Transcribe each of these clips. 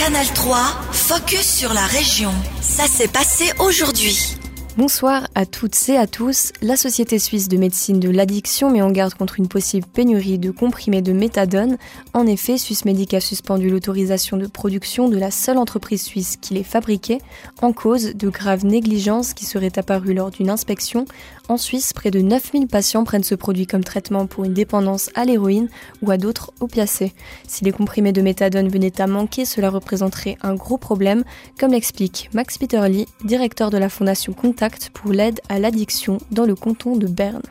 Canal 3, focus sur la région. Ça s'est passé aujourd'hui. Bonsoir à toutes et à tous. La Société suisse de médecine de l'addiction met en garde contre une possible pénurie de comprimés de méthadone. En effet, Swissmedic a suspendu l'autorisation de production de la seule entreprise suisse qui les fabriquait, en cause de graves négligences qui seraient apparues lors d'une inspection. En Suisse, près de 9000 patients prennent ce produit comme traitement pour une dépendance à l'héroïne ou à d'autres opiacés. Si les comprimés de méthadone venaient à manquer, cela représenterait un gros problème, comme l'explique Max Peterli, directeur de la Fondation Contact pour l'aide à l'addiction dans le canton de Berne.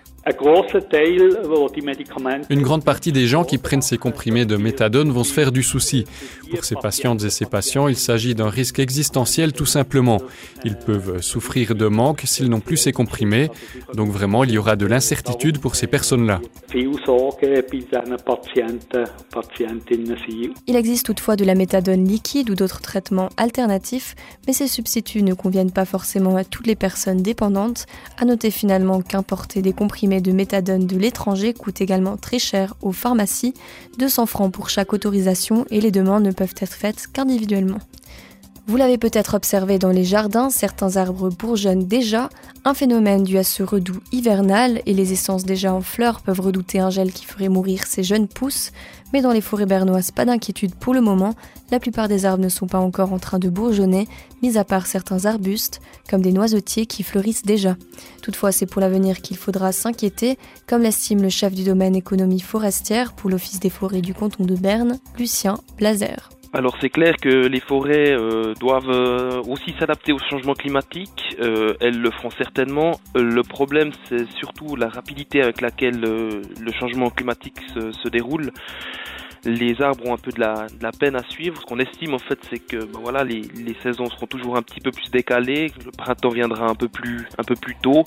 Une grande partie des gens qui prennent ces comprimés de méthadone vont se faire du souci. Pour ces patientes et ces patients, il s'agit d'un risque existentiel tout simplement. Ils peuvent souffrir de manque s'ils n'ont plus ces comprimés. Donc vraiment, il y aura de l'incertitude pour ces personnes-là. Il existe toutefois de la méthadone liquide ou d'autres traitements alternatifs, mais ces substituts ne conviennent pas forcément à toutes les personnes dépendantes. À noter finalement qu'importer des comprimés de méthadone de l'étranger coûte également très cher aux pharmacies, 200 francs pour chaque autorisation et les demandes ne peuvent être faites qu'individuellement. Vous l'avez peut-être observé dans les jardins, certains arbres bourgeonnent déjà, un phénomène dû à ce redout hivernal et les essences déjà en fleurs peuvent redouter un gel qui ferait mourir ces jeunes pousses. Mais dans les forêts bernoises, pas d'inquiétude pour le moment, la plupart des arbres ne sont pas encore en train de bourgeonner, mis à part certains arbustes, comme des noisetiers qui fleurissent déjà. Toutefois, c'est pour l'avenir qu'il faudra s'inquiéter, comme l'estime le chef du domaine économie forestière pour l'Office des forêts du canton de Berne, Lucien Blazer. Alors c'est clair que les forêts doivent aussi s'adapter au changement climatique, elles le feront certainement. Le problème c'est surtout la rapidité avec laquelle le changement climatique se déroule. Les arbres ont un peu de la peine à suivre. Ce qu'on estime en fait c'est que les saisons seront toujours un petit peu plus décalées, le printemps viendra un peu plus tôt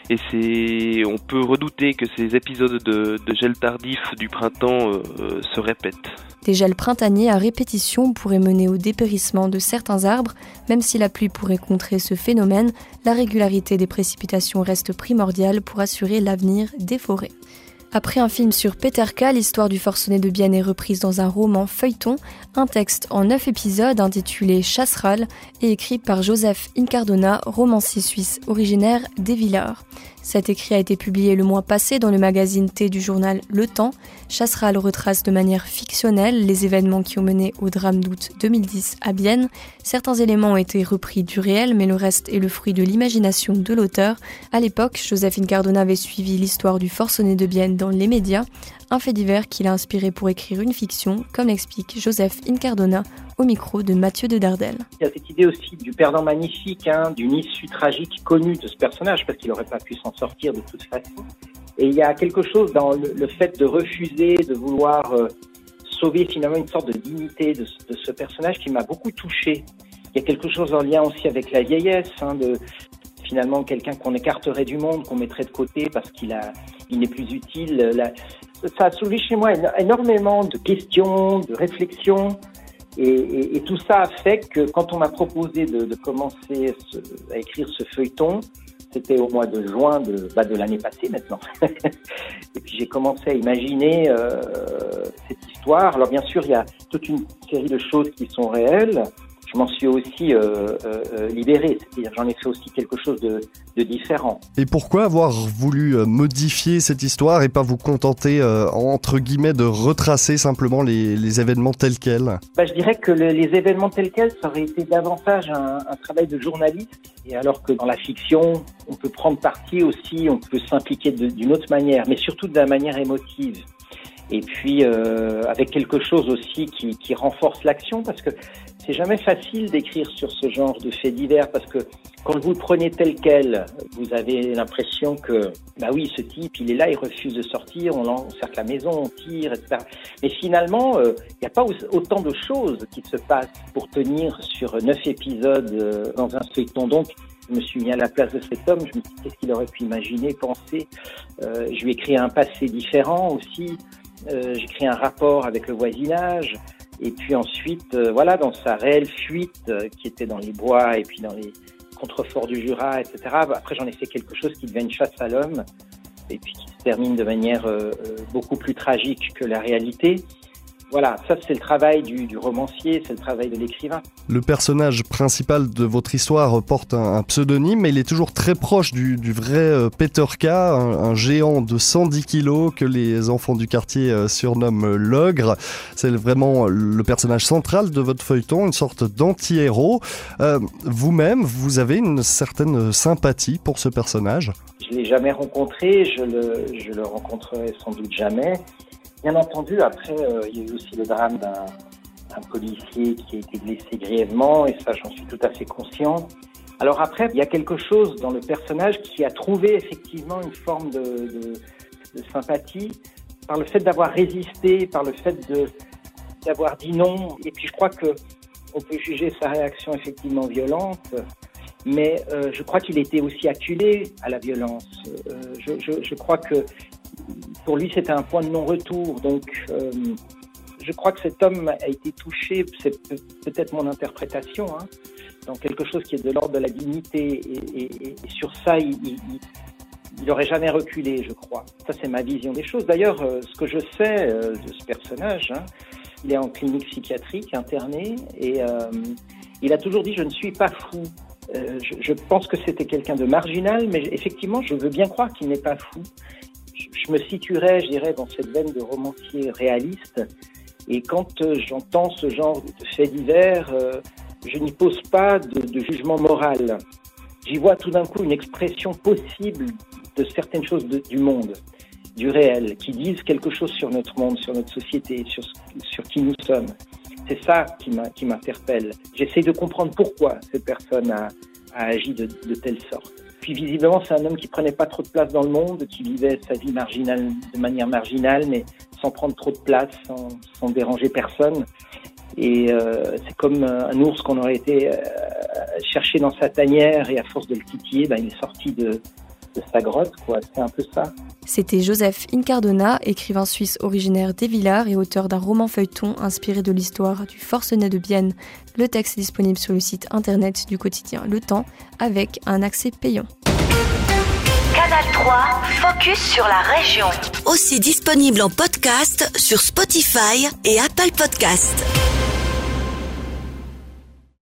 et on peut redouter que ces épisodes de gel tardif du printemps se répètent. Des gels printaniers à répétition pourraient mener au dépérissement de certains arbres. Même si la pluie pourrait contrer ce phénomène, la régularité des précipitations reste primordiale pour assurer l'avenir des forêts. Après un film sur Peterka, l'histoire du forcené de Bienne est reprise dans un roman feuilleton, un texte en 9 épisodes intitulé Chasseral et écrit par Joseph Incardona, romancier suisse originaire d'Evillars. Cet écrit a été publié le mois passé dans le magazine T du journal Le Temps. Chasseral retrace de manière fictionnelle les événements qui ont mené au drame d'août 2010 à Bienne. Certains éléments ont été repris du réel, mais le reste est le fruit de l'imagination de l'auteur. À l'époque, Joseph Incardona avait suivi l'histoire du forcené de Bienne dans les médias, un fait divers qui l'a inspiré pour écrire une fiction, comme l'explique Joseph Incardona au micro de Mathieu de Dardel. Il y a cette idée aussi du perdant magnifique, d'une issue tragique connue de ce personnage, parce qu'il n'aurait pas pu s'en sortir de toute façon. Et il y a quelque chose dans le fait de refuser, de vouloir sauver finalement une sorte de dignité de ce personnage qui m'a beaucoup touché. Il y a quelque chose en lien aussi avec la vieillesse, de finalement quelqu'un qu'on écarterait du monde, qu'on mettrait de côté parce qu'il n'est plus utile. Ça a soulevé chez moi énormément de questions, de réflexions. Et tout ça a fait que quand on m'a proposé de commencer à écrire ce feuilleton, c'était au mois de juin de l'année passée maintenant. Et puis j'ai commencé à imaginer cette histoire. Alors bien sûr, il y a toute une série de choses qui sont réelles. Je m'en suis aussi libéré, c'est-à-dire j'en ai fait aussi quelque chose de différent. Et pourquoi avoir voulu modifier cette histoire et pas vous contenter, entre guillemets, de retracer simplement les événements tels quels ? Je dirais que les événements tels quels, ça aurait été davantage un travail de journaliste. Et alors que dans la fiction, on peut prendre parti aussi, on peut s'impliquer d'une autre manière, mais surtout de la manière émotive. Et puis avec quelque chose aussi qui renforce l'action, parce que c'est jamais facile d'écrire sur ce genre de faits divers, parce que quand vous le prenez tel quel, vous avez l'impression que, oui, ce type, il est là, il refuse de sortir, on encercle la maison, on tire, etc. Mais finalement, il n'y a pas autant de choses qui se passent pour tenir sur 9 épisodes dans un feuilleton. Donc, je me suis mis à la place de cet homme, je me suis dit, qu'est-ce qu'il aurait pu imaginer, penser. Je lui ai créé un passé différent aussi. J'ai créé un rapport avec le voisinage. Et puis ensuite, dans sa réelle fuite qui était dans les bois et puis dans les contreforts du Jura, etc. Après, j'en ai fait quelque chose qui devient une chasse à l'homme et puis qui se termine de manière beaucoup plus tragique que la réalité. Voilà, ça c'est le travail du romancier, c'est le travail de l'écrivain. Le personnage principal de votre histoire porte un pseudonyme, mais il est toujours très proche du vrai Peter K, un géant de 110 kilos que les enfants du quartier surnomment l'ogre. C'est vraiment le personnage central de votre feuilleton, une sorte d'anti-héros. Vous-même, vous avez une certaine sympathie pour ce personnage ? Je ne l'ai jamais rencontré, je le rencontrerai sans doute jamais. Bien entendu, après, il y a eu aussi le drame d'un policier qui a été blessé grièvement, et ça, j'en suis tout à fait conscient. Alors après, il y a quelque chose dans le personnage qui a trouvé effectivement une forme de sympathie par le fait d'avoir résisté, par le fait d'avoir dit non. Et puis je crois que on peut juger sa réaction effectivement violente, mais je crois qu'il était aussi acculé à la violence. Je crois que pour lui, c'était un point de non-retour. Donc, je crois que cet homme a été touché, c'est peut-être mon interprétation, dans quelque chose qui est de l'ordre de la dignité. Et sur ça, il n'aurait jamais reculé, je crois. Ça, c'est ma vision des choses. D'ailleurs, ce que je sais de ce personnage, il est en clinique psychiatrique, interné, et il a toujours dit « je ne suis pas fou ». Je pense que c'était quelqu'un de marginal, mais effectivement, je veux bien croire qu'il n'est pas fou. Je me situerais, je dirais, dans cette veine de romancier réaliste. Et quand j'entends ce genre de faits divers, je n'y pose pas de jugement moral. J'y vois tout d'un coup une expression possible de certaines choses du monde, du réel, qui disent quelque chose sur notre monde, sur notre société, sur qui nous sommes. C'est ça qui m'interpelle. J'essaie de comprendre pourquoi cette personne a agi de telle sorte. Puis visiblement, c'est un homme qui prenait pas trop de place dans le monde, qui vivait sa vie marginale de manière marginale, mais sans prendre trop de place, sans déranger personne. Et c'est comme un ours qu'on aurait été chercher dans sa tanière, et à force de le titiller, il est sorti de sa grotte, quoi. C'est un peu ça. C'était Joseph Incardona, écrivain suisse originaire d'Évillars et auteur d'un roman feuilleton inspiré de l'histoire du forcené de Bienne. Le texte est disponible sur le site internet du quotidien Le Temps avec un accès payant. Canal 3, focus sur la région. Aussi disponible en podcast sur Spotify et Apple Podcasts.